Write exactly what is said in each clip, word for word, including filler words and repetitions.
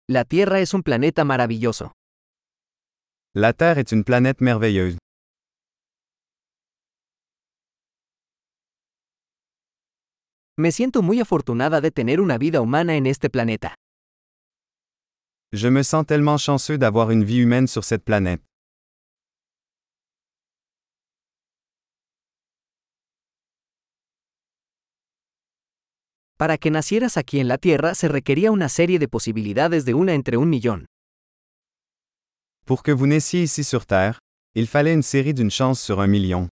La Tierra es un planeta maravilloso. La Terre est une planète merveilleuse. Me siento muy afortunada de tener una vida humana en este planeta. Je me sens tellement chanceux d'avoir une vie humaine sur cette planète. Para que nacieras aquí en la Tierra se requería una serie de posibilidades de una entre un millón. Pour que vous naissiez ici sur Terre, il fallait une série d'une chance sur un million.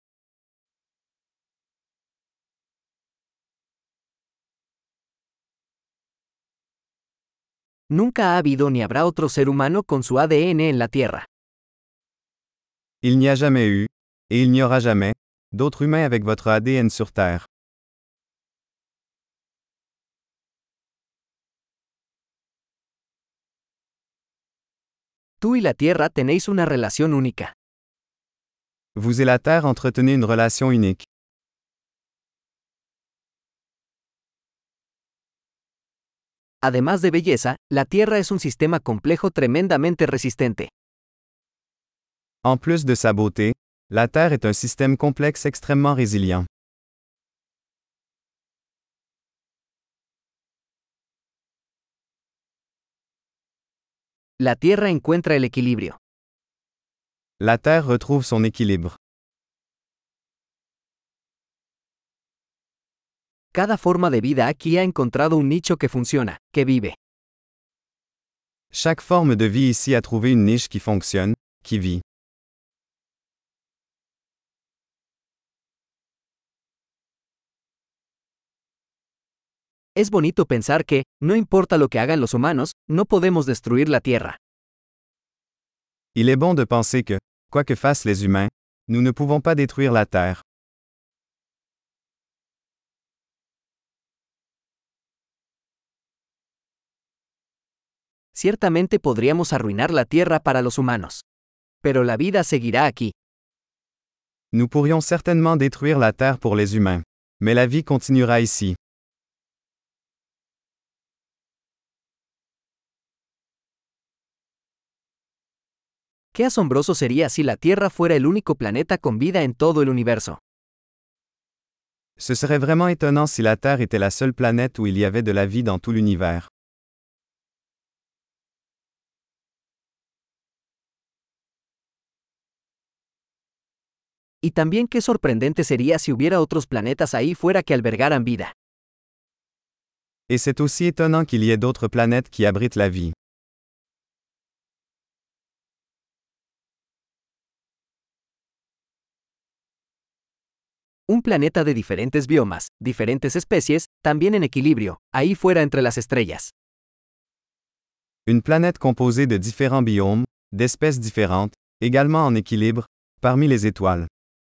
Nunca ha habido ni habrá otro ser humano con su A D N en la Tierra. Il n'y a jamais eu, et il n'y aura jamais, d'autres humains avec votre A D N sur Terre. Tú y la Tierra tenéis una relación única. Vous et la Terre entretenez une relation unique. Además de belleza, la Tierra es un sistema complejo tremendamente resistente. En plus de sa beauté, la Terre est un système complexe extrêmement résilient. La Tierra encuentra el equilibrio. La Terre retrouve son équilibre. Cada forma de vida aquí ha encontrado un nicho que funciona, que vive. Chaque forme de vie ici a trouvé une niche qui fonctionne, qui vit. Es bonito pensar que, no importa lo que hagan los humanos, no podemos destruir la Tierra. Il est bon de penser que, quoi que fassent les humains, nous ne pouvons pas détruire la Terre. Ciertamente podríamos arruinar la Tierra para los humanos. Pero la vida seguirá aquí. Nous pourrions certainement détruire la Terre pour les humains. Mais la vie continuera ici. Qué asombroso sería si la Tierra fuera el único planeta con vida en todo el universo. Ce serait vraiment étonnant si la Terre était la seule planète où il y avait de la vie dans tout l'univers. Y también qué sorprendente sería si hubiera otros planetas ahí fuera que albergaran vida. Et c'est aussi étonnant qu'il y ait d'autres planètes qui abritent la vie. Un planeta de diferentes biomas, diferentes especies, también en equilibrio, ahí fuera entre las estrellas. Une planète composée de différents biomes, d'espèces différentes, également en équilibre, parmi les étoiles.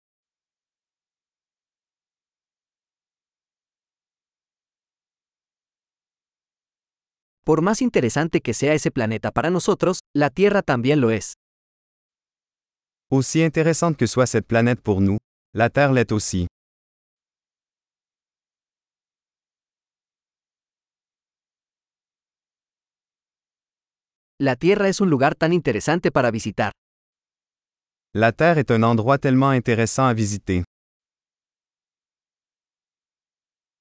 Por más interesante que sea ese planeta para nosotros, la Tierra también lo es. Aussi intéressante que soit cette planète pour nous, la Terre l'est aussi. La Tierra es un lugar tan interesante para visitar. La Terre est un endroit tellement intéressant à visiter.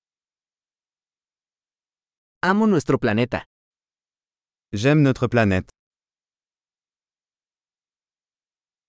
Amo nuestro planeta. J'aime notre planète.